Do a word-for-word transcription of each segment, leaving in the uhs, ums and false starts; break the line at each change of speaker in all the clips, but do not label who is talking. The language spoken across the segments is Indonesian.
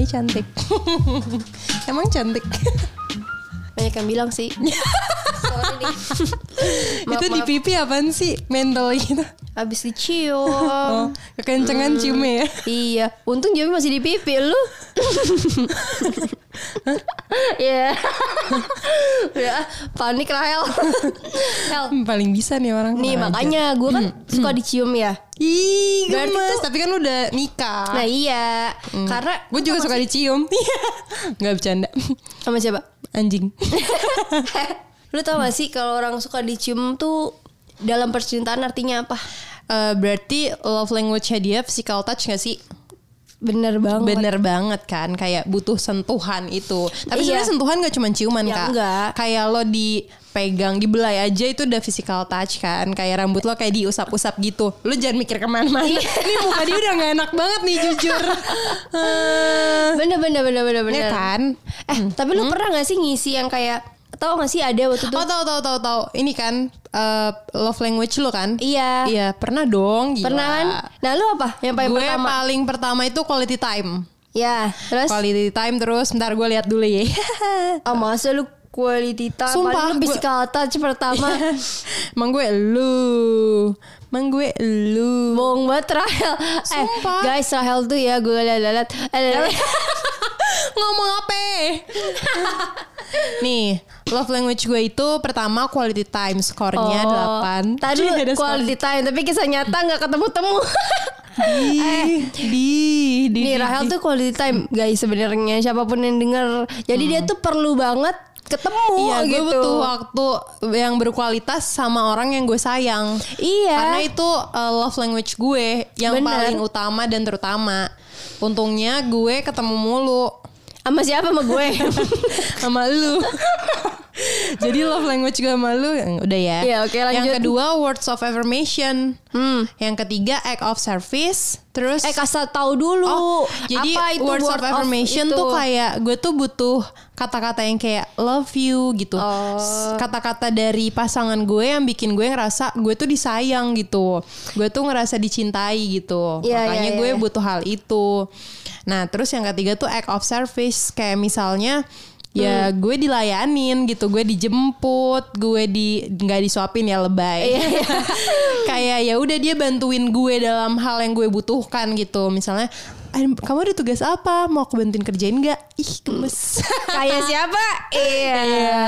aja cantik. Emang cantik.
Banyak yang bilang sih. Sorry nih. Maaf,
Itu di
maaf.
pipi apaan sih? Mentol gitu.
Habis dicium.
Oh, kekencengan ciumnya ya.
Iya, untung Jamie masih di pipi lu. Iya. Ya, panik Rahel. Hel.
Paling bisa nih orang.
Nih
Kurang ajar.
makanya gue kan suka dicium ya.
Ih,
Berarti
gemes.
tuh-
Tapi kan lu udah nikah.
Nah iya, karena
Gue juga suka dicium. Nggak bercanda.
sama siapa?
Anjing.
Lu tau gak sih kalau orang suka dicium tuh dalam percintaan artinya apa?
Eh, berarti love language-nya dia physical touch gak sih?
Bener banget.
Bener banget kan. Kayak butuh sentuhan itu. Tapi
Iya.
sebenarnya sentuhan gak cuma ciuman
Ya,
Kak.
enggak.
Kayak lo dipegang, dibelai aja itu udah physical touch kan. Kayak rambut lo kayak diusap-usap gitu. Lo jangan mikir kemana-mana.
Iya.
Ini muka dia udah gak enak banget nih jujur. Eh,
Bener bener bener bener bener.
ya kan?
Eh tapi lu pernah gak sih ngisi yang kayak tau gak sih ada waktu itu?
Oh tahu tahu tahu tahu. Ini kan eh, love language lo kan?
Iya.
Iya, pernah dong. Gila.
Pernah kan? Nah lu apa? Yang paling
Gue
pertama?
paling pertama itu quality time.
Ya terus?
Quality time terus bentar gue lihat dulu ya.
Oh masa lu quality time?
Sumpah,
Paling lu
gue-
physical touch pertama.
Emang gue lu. Emang gue lu.
Bohong banget Rahel. Eh
Sumpah.
guys Rahel tuh ya gue liat-liat.
Ngomong apa? Nih, love language gue itu pertama quality time, skornya delapan.
Tadi
Jadi ada
quality time tapi kisah nyata gak ketemu-temu.
skor. Di, di, di,
Nih
di,
Rahel
di.
tuh quality time guys sebenarnya siapapun yang denger. Jadi dia tuh perlu banget ketemu
Iya, gue
gitu.
butuh waktu yang berkualitas sama orang yang gue sayang.
Iya.
Karena itu uh, love language gue yang
Bener.
paling utama dan terutama. Untungnya gue ketemu mulu
Sama siapa sama gue?
sama lu. Jadi love language gue sama lu udah ya.
Iya, oke, lanjut.
Yang kedua words of affirmation.
Hmm.
Yang ketiga act of service. Terus
Eh kasih tahu dulu.
Oh, jadi
apa itu
words
word
of affirmation
itu?
tuh kayak gue tuh butuh kata-kata yang kayak love you gitu.
Oh.
S- Kata-kata dari pasangan gue yang bikin gue ngerasa gue tuh disayang gitu. Gue tuh ngerasa dicintai gitu.
Iya,
Makanya
iya,
gue
iya.
butuh hal itu. Nah, terus yang ketiga tuh act of service, kayak misalnya ya
Hmm.
gue dilayanin gitu, gue dijemput, gue di nggak disuapin ya lebay.
Iya, iya.
Kayak ya udah dia bantuin gue dalam hal yang gue butuhkan gitu. Misalnya, "Eh, kamu ada tugas apa? Mau aku bantuin kerjain nggak?" Ih, gemes.
Kayak siapa? Iya.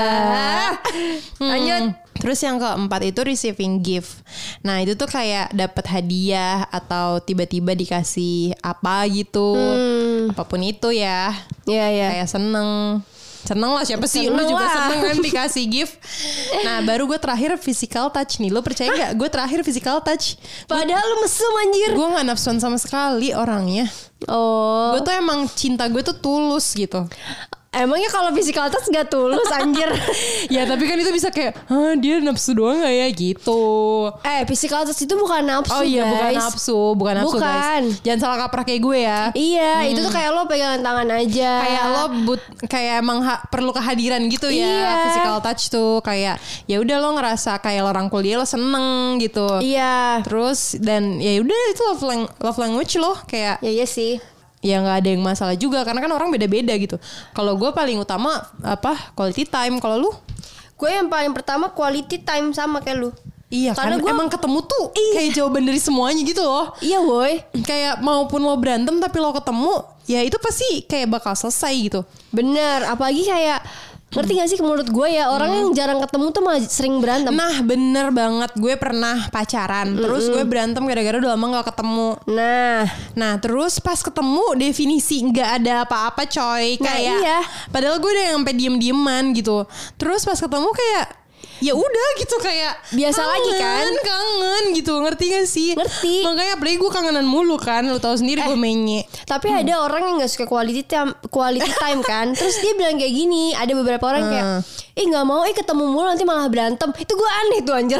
Lanjut.
Hmm. Terus yang keempat itu receiving gift. Nah itu tuh kayak dapat hadiah atau tiba-tiba dikasih apa gitu,
Hmm.
apapun itu ya.
Iya iya.
Kayak seneng. Seneng lah siapa sih? Lu
Seneng
juga
lah.
seneng kan dikasih gift. Nah baru gue terakhir physical touch nih. Lu percaya gak? Gue terakhir physical touch.
Padahal lu mesum anjir.
Gue gak nafsuan sama sekali orangnya.
Oh.
Gue tuh emang cinta gue tuh tulus gitu.
Emangnya kalau physical touch gak tulus anjir.
Ya tapi kan itu bisa kayak, hah dia nafsu doang gak ya gitu.
Eh physical touch itu bukan nafsu
Oh iya
guys.
bukan nafsu, bukan nafsu
Bukan.
guys. Jangan salah kaprah kayak gue ya.
Iya itu tuh kayak lo pegangan tangan aja.
Kayak lo but kayak emang ha- perlu kehadiran gitu ya.
Iya.
Physical touch tuh kayak ya udah lo ngerasa kayak lo rangkul dia lo seneng gitu.
Iya.
Terus dan ya udah itu love, lang- love language lo kayak
Ya iya sih.
ya nggak ada yang masalah juga karena kan orang beda-beda gitu. Kalau gue paling utama apa quality time. Kalau lu?
Gue yang paling pertama quality time sama kayak lu.
Iya
Karena
kan
gua-
emang ketemu tuh kayak jawaban dari semuanya gitu loh.
Iya woi.
Kayak maupun lo berantem tapi lo ketemu ya itu pasti kayak bakal selesai gitu.
Bener. Apalagi kayak ngerti gak sih menurut gue ya orang yang jarang ketemu tuh malah sering berantem.
Nah bener banget. Gue pernah pacaran terus gue berantem gara-gara udah lama gak ketemu.
Nah.
Nah terus pas ketemu definisi gak ada apa-apa coy.
Nah,
Kayak
iya.
padahal gue udah sampai diem-dieman gitu. Terus pas ketemu kayak ya udah gitu kayak
Biasa
kangen,
lagi kan?
Kangen gitu. Ngerti gak sih?
Ngerti.
Makanya apalagi gue kangenan mulu kan. Lo tau sendiri gue menye.
Tapi ada orang yang gak suka quality time, quality time kan. Terus dia bilang kayak gini. Ada beberapa orang yang kayak ih gak mau eh ketemu mulu nanti malah berantem. Itu gue aneh tuh anjir.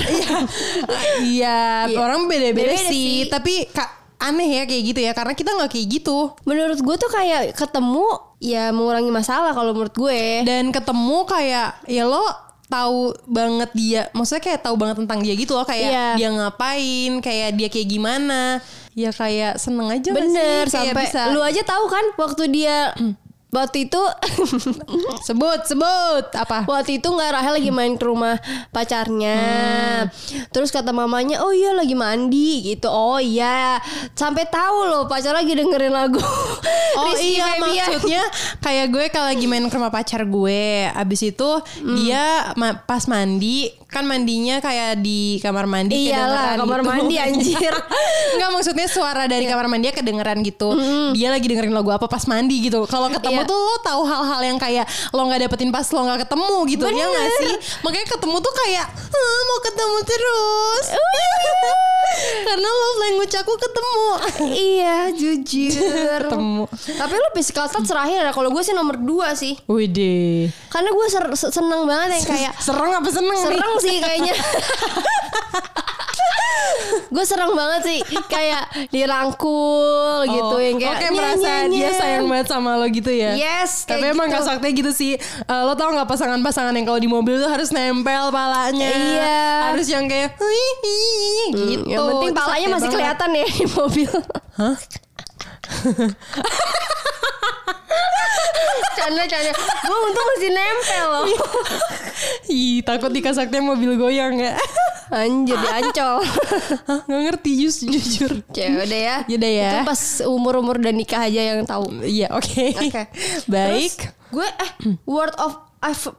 Iya,
Iya.
orang beda-beda
Beda-beda
sih.
sih.
Tapi kak aneh ya kayak gitu ya, karena kita nggak kayak gitu.
Menurut gue tuh kayak ketemu ya mengurangi masalah kalau menurut gue.
Dan ketemu kayak ya lo tahu banget dia, maksudnya kayak tahu banget tentang dia gitu loh, kayak
Iya.
dia ngapain, kayak dia kayak gimana, ya kayak seneng aja nggak
Bener,
sih? Kayak
sampai
bisa
lu aja tahu kan waktu dia waktu itu
sebut sebut apa?
waktu itu nggak Rahel lagi main ke rumah pacarnya,
Hmm.
terus kata mamanya, oh iya lagi mandi gitu, oh iya, sampai tahu loh pacar lagi dengerin lagu.
Oh
Rizky
iya,
Febian.
maksudnya kayak gue kalau lagi main ke rumah pacar gue, abis itu dia ma- pas mandi, kan mandinya kayak di kamar mandi.
Iyalah,
kedengeran
kamar
gitu.
mandi, anjir.
Enggak, maksudnya suara dari kamar mandi kedengeran gitu. Dia lagi dengerin lagu apa pas mandi gitu. Kalau ketemu
Iya.
tuh lo tahu hal-hal yang kayak lo nggak dapetin pas lo nggak ketemu gitu. Ya nggak sih? Makanya ketemu tuh kayak "Ah, mau ketemu terus." Karena love language aku ketemu.
Iya, jujur.
Ketemu.
Tapi lu physical touch terakhir ya. Kalau gue sih nomor dua sih.
Widih.
Karena gue ser- se- seneng banget yang kayak
Serem apa seneng nih?
sereng sih kayaknya. Gue serang banget sih, kayak dirangkul gitu, yang kayak
Oke, merasa dia sayang banget sama lo gitu ya.
Yes,
Tapi
kayak
emang
gitu.
Kak Sakti gitu sih. Eh, lo tau gak pasangan-pasangan yang kalau di mobil tuh harus nempel palanya.
Iya.
Harus yang kayak "Hihihi," gitu.
Yang penting
Itu
palanya
sakti
masih
banget.
kelihatan ya di mobil.
Hah?
Canda-canda. Gue untung masih nempel loh.
Ih, takut di Kak Sakti mobil goyang ya.
Anjir, diancol.
Hah, gak ngerti just, jujur.
Ya udah ya.
Yaudah ya.
Itu pas umur-umur dan nikah aja yang tahu.
Iya, oke.
Oke.
Baik.
Terus gue eh word of I've-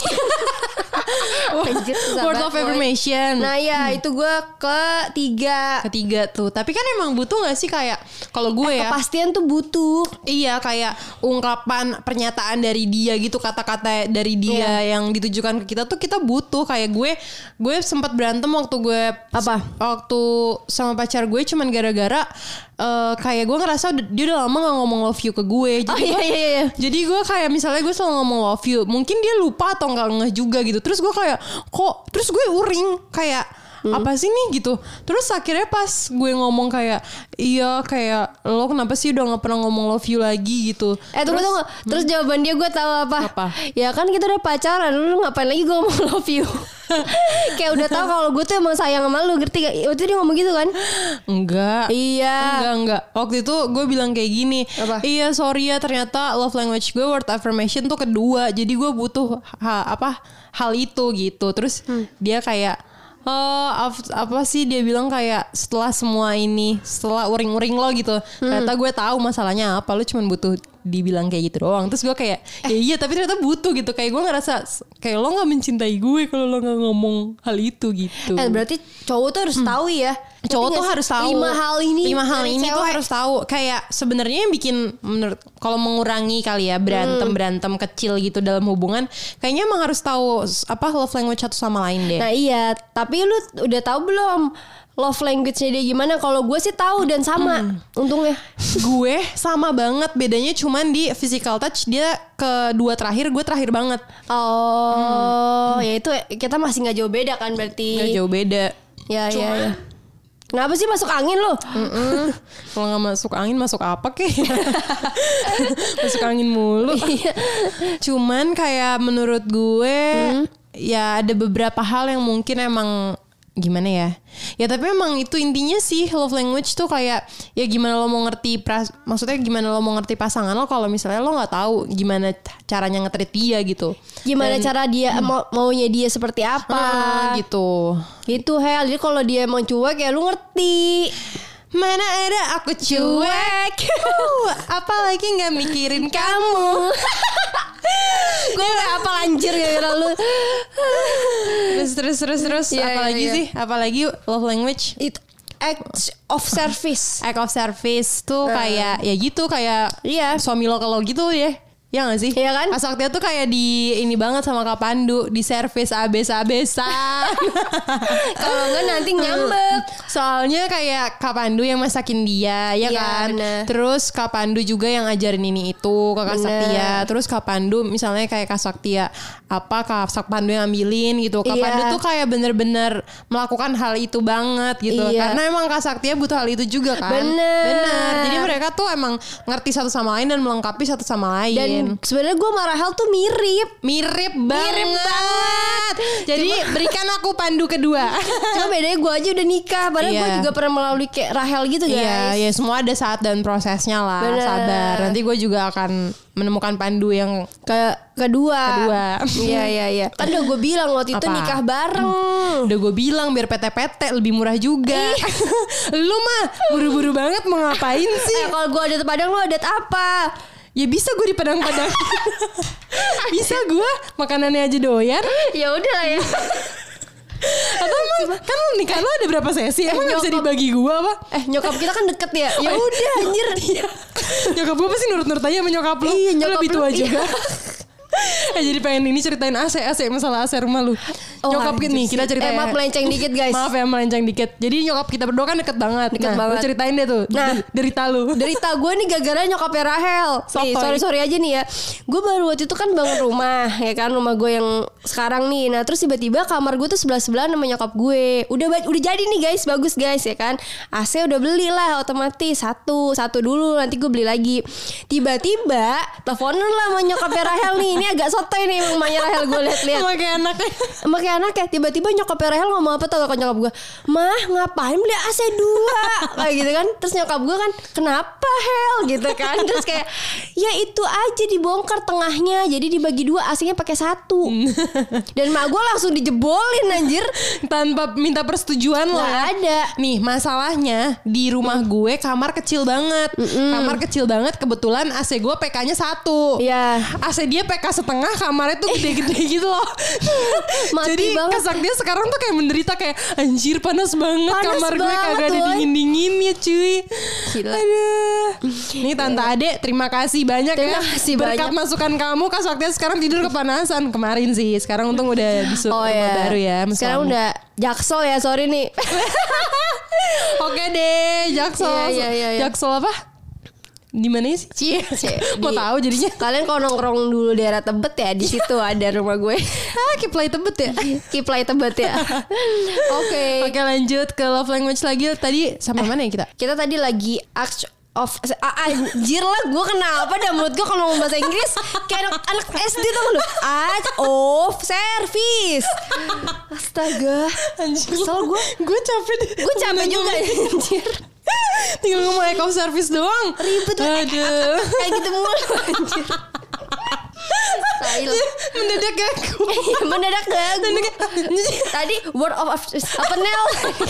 Anjir, susah
Word
banget,
of
Boy.
affirmation.
Nah ya itu gue ketiga.
Ketiga tuh. Tapi kan emang butuh gak sih kayak kalau gue ya.
Kepastian tuh butuh.
Iya, kayak ungkapan pernyataan dari dia gitu, kata-kata dari dia yang ditujukan ke kita tuh kita butuh. Kayak gue gue sempat berantem waktu gue
Apa?
waktu sama pacar gue cuman gara-gara eh, kayak gue ngerasa udah- dia udah lama gak ngomong love you ke gue.
Oh
Jadi
iya
gue,
iya iya.
jadi gue kayak misalnya gue selalu ngomong love you, mungkin dia lupa atau nggak ngeh juga gitu. Terus gue kayak kok, terus gue uring kayak apa sih nih gitu. Terus akhirnya pas gue ngomong kayak iya kayak lo kenapa sih udah nggak pernah ngomong love you lagi gitu.
Eh tunggu tunggu. Terus jawaban dia gue tahu apa?
Apa?
Ya kan kita udah pacaran, lu ngapain lagi gue ngomong love you? Kayak udah tahu kalau gue tuh emang sayang sama lu, ngerti gak? Waktu itu dia ngomong gitu kan?
Enggak.
Iya.
Enggak, enggak. Waktu itu gue bilang kayak gini.
Apa?
Iya, sorry ya ternyata love language gue word affirmation tuh kedua. Jadi gue butuh ha- apa hal itu gitu. Terus dia kayak oh, ap- apa sih dia bilang kayak setelah semua ini, setelah uring-uring lo gitu. Ternyata gue tahu masalahnya apa. Lo cuma butuh dibilang kayak gitu doang. Terus gue kayak ya iya tapi ternyata butuh gitu. Kayak gue ngerasa kayak lo gak mencintai gue kalau lo gak ngomong hal itu gitu.
Eh berarti cowok tuh harus tahu ya. Ngerti
Cowok
gak
tuh
sih?
harus tahu
Lima hal ini.
lima hal
dari
ini tuh
cewek.
harus tahu. Kayak sebenarnya yang bikin menurut kalau mengurangi kali ya berantem berantem kecil gitu dalam hubungan, kayaknya emang harus tahu apa love language satu sama lain deh.
Nah iya, tapi lu udah tahu belum love language-nya dia gimana? Kalau gue sih tahu dan sama. Untungnya.
Gue sama banget, bedanya cuman di physical touch dia kedua terakhir, gue terakhir banget.
Oh, ya itu kita masih nggak jauh beda kan berarti.
Nggak jauh beda.
Ya ya ya. Kenapa sih masuk angin lo?
Mm-mm. Kalau nggak masuk angin masuk apa kek? Masuk angin mulu. Cuman kayak menurut gue ya ada beberapa hal yang mungkin emang gimana ya? Ya tapi emang itu intinya sih love language tuh kayak ya gimana lo mau ngerti pras, maksudnya gimana lo mau ngerti pasangan lo kalau misalnya lo nggak tahu gimana caranya nge-treat dia gitu.
Gimana
Dan-
cara dia mau maunya dia seperti apa?
Ah, gitu.
Gitu Hel. Jadi kalau dia emang cuek ya lu ngerti.
Mana ada aku cuek. Uh, apalagi nggak mikirin kamu.
Gue gak apa anjir gara-gara lu.
Terus terus terus terus
Iya,
apalagi
iya, iya.
sih? Apalagi love language?
Itu act of service.
Act of service tuh kayak ya gitu kayak
Iya.
suami lo kalau gitu ya. Ya gak sih?
Iya kan?
Pas waktu itu kayak di ini banget sama Kak Pandu, di servis abes-abesan.
Kalau enggak nanti ngambek.
Soalnya kayak Kak Pandu yang masakin dia, ya
Iya,
kan?
bener.
Terus Kak Pandu juga yang ngajarin ini itu ke Kak
Bener.
Saktia. Terus Kak Pandu misalnya kayak Kak Saktia apa Kak Sak Pandu yang ambilin gitu. Kak
Iya.
Pandu tuh kayak bener-bener melakukan hal itu banget gitu.
Iya.
Karena emang Kak Saktia butuh hal itu juga kan.
Bener.
Bener. Jadi mereka tuh emang ngerti satu sama lain dan melengkapi satu sama lain.
Dan sebenarnya gue sama Rahel tuh mirip.
Mirip banget. Mirip banget. Jadi Cuma, berikan aku pandu kedua.
Cuma bedanya gue aja udah nikah. Padahal yeah. gue juga pernah melalui kayak Rahel gitu guys.
Iya, yeah, yeah, semua ada saat dan prosesnya lah. Bener. Sabar. Nanti gue juga akan menemukan pandu yang
ke kedua.
Kedua.
Iya iya iya. Kan udah gue bilang waktu itu Apa? nikah bareng.
Udah gue bilang biar P T P T lebih murah juga. Lu mah buru-buru banget mau ngapain sih?
Eh kalau gue adat Padang, lu adat apa?
Ya bisa gue di Padang-Padang. Bisa gue makanannya aja doyan.
Ya udah lah ya.
Atau emang kan nikah lo ada berapa sesi? Emang eh, gak bisa dibagi gue apa?
Eh nyokap kita kan deket ya. Ya udah anjir.
Nyokap gue pasti nurut-nurut aja sama nyokap lo.
Iya, nyokap
lebih tua juga. Eh jadi pengen ini ceritain A C A C masalah A C rumah lu. Oh, nyokap kita nih kita ceritain.
Eh maaf melenceng dikit guys.
Maaf ya melenceng dikit. Jadi nyokap kita berdua kan deket banget.
Deket
nah,
banget.
Lu ceritain deh tuh. Nah derita lu.
Derita gue nih gara-gara nyokapnya Rahel. Nih sorry sorry aja nih ya. Gue baru waktu itu kan bangun rumah ya kan, rumah gue yang sekarang nih. Nah terus tiba-tiba kamar gue tuh sebelah sebelah sama nyokap gue. Udah udah jadi nih guys, bagus guys ya kan. A C udah beli lah otomatis satu satu dulu, nanti gue beli lagi. Tiba-tiba teleponan lah sama nyokapnya Rahel nih. Ini agak sotoy nih emang mamanya Rahel, gue lihat-lihat.
Sama kayak anaknya.
Sama kayak anaknya. Tiba-tiba nyokap Rahel ngomong apa tau gak ke nyokap gue? Mah ngapain beli A C dua? Kayak gitu kan. Terus nyokap gue kan, kenapa Hel? Gitu kan. Terus kayak ya itu aja dibongkar tengahnya, jadi dibagi dua, A C-nya pakai satu. Dan mak gue langsung dijebolin anjir.
Tanpa minta persetujuan lo ya.
Ada.
Nih masalahnya di rumah gue kamar kecil banget. Mm-mm. Kamar kecil banget, kebetulan A C gue P K-nya satu.
Iya.
A C dia P K setengah, kamarnya tuh gede-gede gitu loh. Jadi kesak dia sekarang tuh kayak menderita, kayak anjir panas banget panas kamar gue, kagak ada dingin-dinginnya cuy. Gila. Aduh. Nih Tante Ade terima kasih banyak
terima
ya.
Kasih
Berkat
banyak.
masukan kamu Kak Saktia sekarang tidur kepanasan. Kemarin sih, sekarang untung udah di
oh,
rumah
iya.
baru ya.
Sekarang udah Jaksel ya, sorry nih.
Oke deh, Jaksel.
Iya, iya, iya, iya.
Jaksel apa? Di mana sih? Cie. Mau tahu jadinya.
Kalian kalau nongkrong dulu daerah Tebet ya, di situ ada rumah gue.
Ah, Kiplay Tebet ya.
Kiplay Tebet ya. Oke.
Okay. Oke, okay, lanjut ke love language lagi. Tadi sama eh, mana ya kita?
Kita tadi lagi acts of ah, anjir lah, gue kenapa dah mulut gue kalau ngomong bahasa Inggris kayak anak, anak S D tuh lu. Acts of service. Astaga. Anjir. Kesel gue.
Gue capek deh.
Gue capek juga anjir.
Tinggal ngomong act of service doang.
Ribet lah. Kayak gitu mulu anjir. Style.
Mendadak gagu.
Mendadak gagu. Tadi word of apa Nel?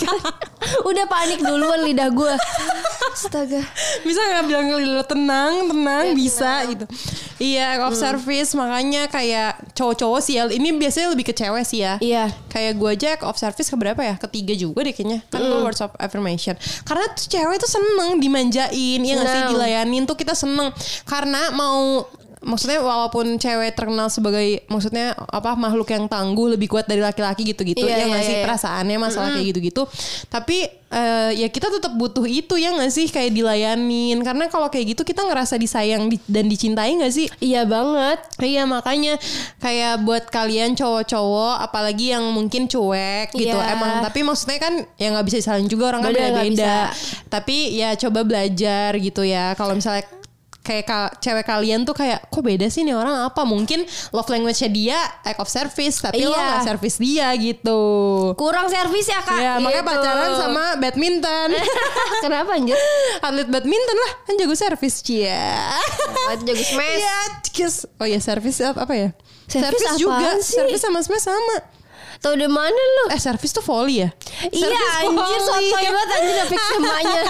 Udah panik duluan lidah gue. Astaga.
Bisa gak bilang ke lidah tenang, tenang ya, bisa tenang. Gitu. Iya, of hmm. service. Makanya kayak cowok-cowok sih ya. Ini biasanya lebih ke cewek sih ya.
Iya.
Kayak gue aja of service keberapa ya? Ketiga juga deh kayaknya. Kan mm. words of affirmation. Karena tuh cewek tuh seneng dimanjain. Ya gak sih, dilayanin tuh kita seneng. Karena mau... Maksudnya walaupun cewek terkenal sebagai maksudnya apa makhluk yang tangguh, lebih kuat dari laki-laki gitu-gitu,
iya,
ya nggak
iya,
sih
iya.
perasaannya masalah mm-hmm. kayak gitu-gitu. Tapi uh, ya kita tetap butuh itu ya nggak sih, kayak dilayanin. Karena kalau kayak gitu kita ngerasa disayang di, dan dicintai nggak sih?
Iya banget.
Iya makanya kayak buat kalian cowok-cowok, apalagi yang mungkin cuek gitu,
yeah.
emang. Tapi maksudnya kan ya nggak bisa disalahin juga, orang kan beda-beda. Tapi ya coba belajar gitu ya. Kalau misalnya kayak ka- cewek kalian tuh kayak kok beda sih nih orang, apa mungkin love language-nya dia act of service tapi iya. lo gak service dia gitu,
kurang service ya kak
ya,
gitu.
Makanya pacaran sama badminton.
Kenapa anjir?
Atlet badminton lah kan jago service cia.
Jago smash
ya, oh ya service apa ya,
service,
service juga sih? Service sama smash sama.
Tau di mana lu?
Eh service tuh volley ya?
Iya anjir sotoy banget anjir, udah fix kemanya.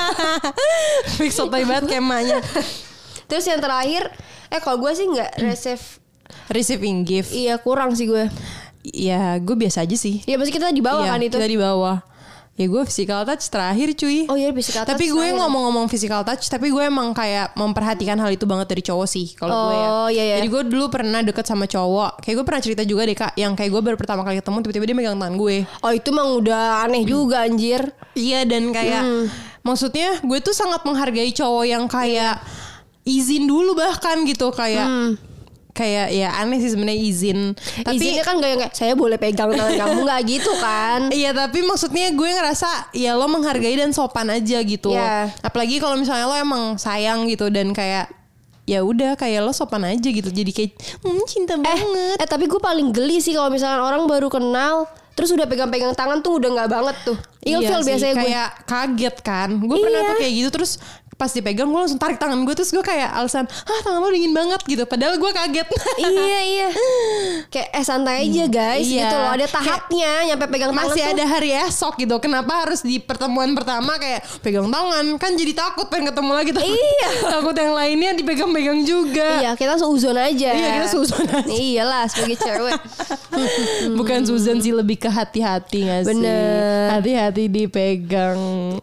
Fix sotoy banget kemanya.
Terus yang terakhir, eh kalau gue sih nggak receive
receiving gift.
Iya kurang sih gue.
Ya gue biasa aja sih.
Ya pasti kita di bawah
iya,
kan itu.
Kita di bawah. Ya gue physical touch terakhir cuy.
Oh iya physical touch.
Tapi gue terakhir. Ngomong-ngomong physical touch, tapi gue emang kayak memperhatikan hal itu banget dari cowok sih kalau
oh,
gue ya.
Iya, iya.
Jadi gue dulu pernah deket sama cowok. Kayak gue pernah cerita juga deh kak, yang kayak gue baru pertama kali ketemu tiba-tiba dia megang tangan gue.
Oh itu emang udah aneh juga anjir.
Iya dan kayak hmm. maksudnya gue tuh sangat menghargai cowok yang kayak izin dulu bahkan gitu kayak. Hmm. Kayak ya aneh sih sebenarnya izin. Tapi
izinnya kan gak yang kayak saya boleh pegang tangan kamu, gak gitu kan.
Iya tapi maksudnya gue ngerasa ya lo menghargai dan sopan aja gitu. Yeah. Apalagi kalau misalnya lo emang sayang gitu dan kayak ya udah kayak lo sopan aja gitu. Jadi kayak hmm, cinta banget.
Eh tapi gue paling geli sih kalau misalkan orang baru kenal terus udah pegang-pegang tangan tuh udah nggak banget tuh. Ilfil
iya
biasanya gue.
Kayak kaget kan. Gue
Iya.
pernah tuh kayak gitu terus pas dipegang gue langsung tarik tangan gue terus gue kayak alasan ah tangan lo dingin banget gitu padahal gue kaget.
Iya iya. Kayak eh santai aja guys
Iya.
gitu loh. Ada tahapnya nyampe pegang tangan
masih
tuh.
ada hari esok gitu. Kenapa harus di pertemuan pertama kayak pegang tangan? Kan jadi takut pengen ketemu lagi takut.
Iya.
Takut yang lainnya dipegang-pegang juga.
Iya kita seuzon aja.
Iya, kita seuzon aja.
Iyalah sebagai cewek.
Bukan Susan sih, lebih ke hati-hati gak sih?
Bener.
Hati-hati dipegang.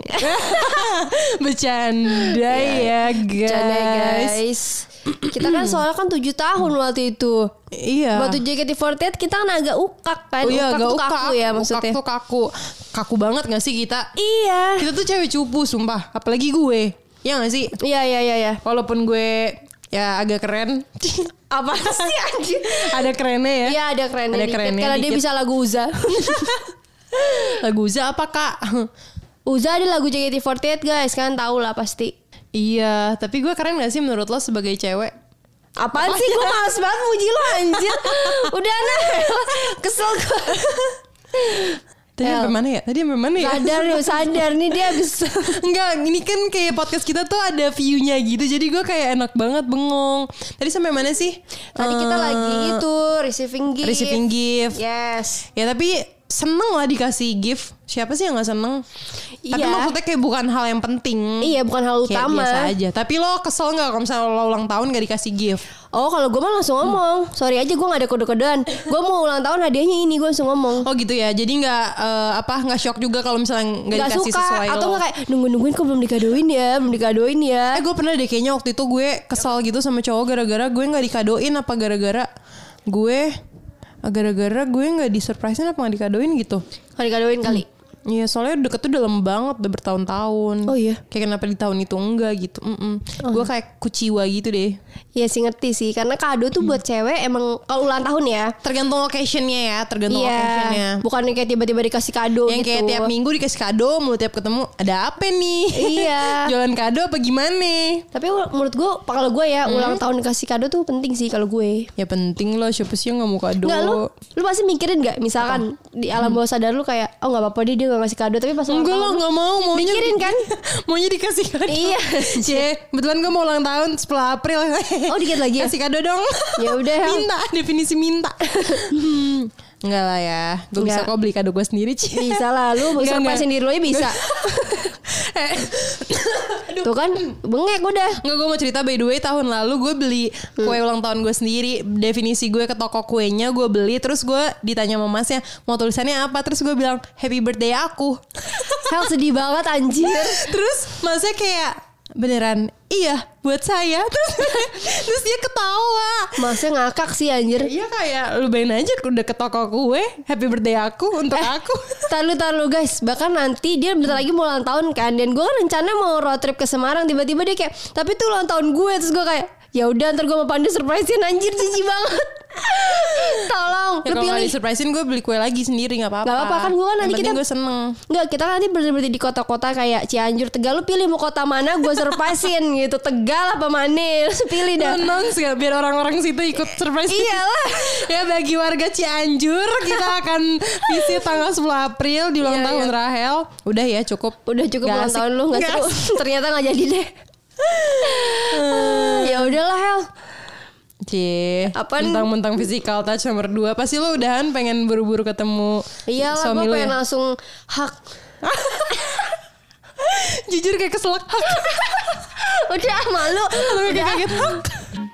Bercanda ya guys.
Bercanda guys. Kita kan soalnya kan tujuh tahun waktu itu.
Iya.
Waktu J K T empat puluh delapan kita kan agak ukak kan.
Oh iya,
ukak
agak
tuh
ukak.
kaku ya maksudnya.
Ukak tuh kaku. Kaku banget gak sih kita?
Iya.
Kita tuh cewek cupu sumpah. Apalagi gue. Ya gak sih?
Iya iya iya iya.
Walaupun gue ya agak keren.
Apa sih anjir?
Ada kerennya ya.
Iya ada kerennya
Ada
dikit.
kerennya
Karena dia
dikit.
bisa lagu Uza.
Lagu Uza apa kak?
Uza ada lagu J K T empat puluh delapan guys. Kan tau lah pasti.
Iya. Tapi gue keren gak sih menurut lo sebagai cewek?
Apaan sih? Gue males banget muji lo anjir. Udah nah. Kesel gue.
Tadi
El.
sampai mana ya? Tadi sampai mana ya?
Sadar nih, sadar nih dia abis.
Enggak, ini kan kayak podcast kita tuh ada view-nya gitu. Jadi gue kayak enak banget bengong. Tadi sampai mana sih?
Tadi kita
Eh,
lagi itu receiving gift.
receiving gift.
Yes.
Ya tapi seneng lah dikasih gift. Siapa sih yang gak seneng? Tapi
Iya.
maksudnya kayak bukan hal yang penting.
Iya bukan hal
Kayak
utama.
biasa aja. Tapi lo kesel gak kalau misalnya lo ulang tahun gak dikasih gift?
Oh kalau gue mah langsung ngomong. Sorry aja gue gak ada kode-kodean. Gue mau ulang tahun hadiahnya ini, gue langsung ngomong.
Oh gitu ya. Jadi gak eh, apa gak shock juga kalau misalnya gak,
Gak
dikasih
suka.
sesuai
Atau
lo.
gak kayak nunggu-nungguin kok belum dikadoin ya. Belum dikadoin ya.
Eh gue pernah deh kayaknya waktu itu gue kesal gitu sama cowok gara-gara gue gak dikadoin apa gara-gara gue gara-gara gue gak disurprisein apa gak dikadoin gitu.
Gak dikadoin kali.
Iya soalnya deket tuh dalam banget udah bertahun-tahun.
Oh iya?
Kayak kenapa di tahun itu enggak gitu. Mm-mm. Gue kayak kuciwa gitu deh.
Iya sih ngerti sih. Karena kado tuh buat cewek emang kalau ulang tahun ya.
Tergantung locationnya ya. Tergantung
Iya.
locationnya.
Bukan yang kayak tiba-tiba dikasih kado
Yang
gitu.
kayak tiap minggu dikasih kado. Mulu tiap ketemu ada apa nih?
Iya.
Jualan kado apa gimana?
Tapi menurut gue kalau gue ya ulang tahun dikasih kado tuh penting sih kalau gue.
Ya penting lah. Siapa sih yang gak mau kado?
Enggak lu lu pasti mikirin gak misalkan di alam bawah sadar lu kayak oh gak apa-apa dia dia gak ngasih kado tapi pas ulang
Enggak
tahun
lah
lu
gak mau. Maunya
mikirin kan?
Maunya dikasih kado.
Iya.
Cie, kebetulan gue mau ulang tahun sepuluh April.
Oh dikit lagi ya?
Kasih kado dong.
Ya udah.
Minta, definisi minta. hmm. Enggak lah ya. Gue bisa
Enggak.
kok beli kado gue sendiri, Ci.
Bisa lah lu
Enggak,
surprise
enggak.
sendiri lu aja bisa.
Eh,
Tuh kan bengek udah.
Enggak, gue mau cerita by the way tahun lalu gue beli kue ulang tahun gue sendiri. Definisi gue ke toko kuenya gue beli. Terus gue ditanya sama masnya mau tulisannya apa. Terus gue bilang happy birthday aku.
Hel sedih banget anjir.
Terus masnya kayak beneran iya buat saya. Terus, terus dia ketawa.
Masnya ngakak sih anjir.
Iya kayak lu bayangin aja udah ke toko kue happy birthday aku untuk aku.
Tahu tahu guys, bahkan nanti dia bentar lagi mau ulang tahun kan, dan gue kan rencana mau road trip ke Semarang, tiba-tiba dia kayak, tapi itu ulang tahun gue, terus gue kayak, ya udah ntar gue mau Pandu surprisein anjir jijik banget. Tolong,
Ya,
lu
kalau
pilih.
nggak disurprisein gue beli kue lagi sendiri nggak apa-apa.
Gak apa-apa kan gue kan nanti
Yang
kita
penting gue seneng.
Enggak, kita kan nanti berhenti di kota-kota kayak Cianjur, Tegal. Lu pilih mau kota mana gue surprisein gitu. Tegal apa mana? Lu pilih dah.
Announce gak biar orang-orang situ ikut surprise.
Iyalah.
Ya bagi warga Cianjur kita akan visit tanggal sepuluh April di ulang
Iya,
tahun
iya.
Rahel. Udah ya cukup.
Udah cukup
Gak
ulang
asik.
tahun lu nggak
Gak
seru.
asik.
Ternyata nggak jadi deh. Ya udahlah Hel.
Cie,
Apaan?
mentang-mentang physical touch nomor dua. Pasti lo udahan pengen buru-buru ketemu
Iyalah,
suami
gue
lo
pengen
ya.
langsung hak.
Jujur kayak keselak.
Udah malu.
Lo kayak
Udah.
kaget.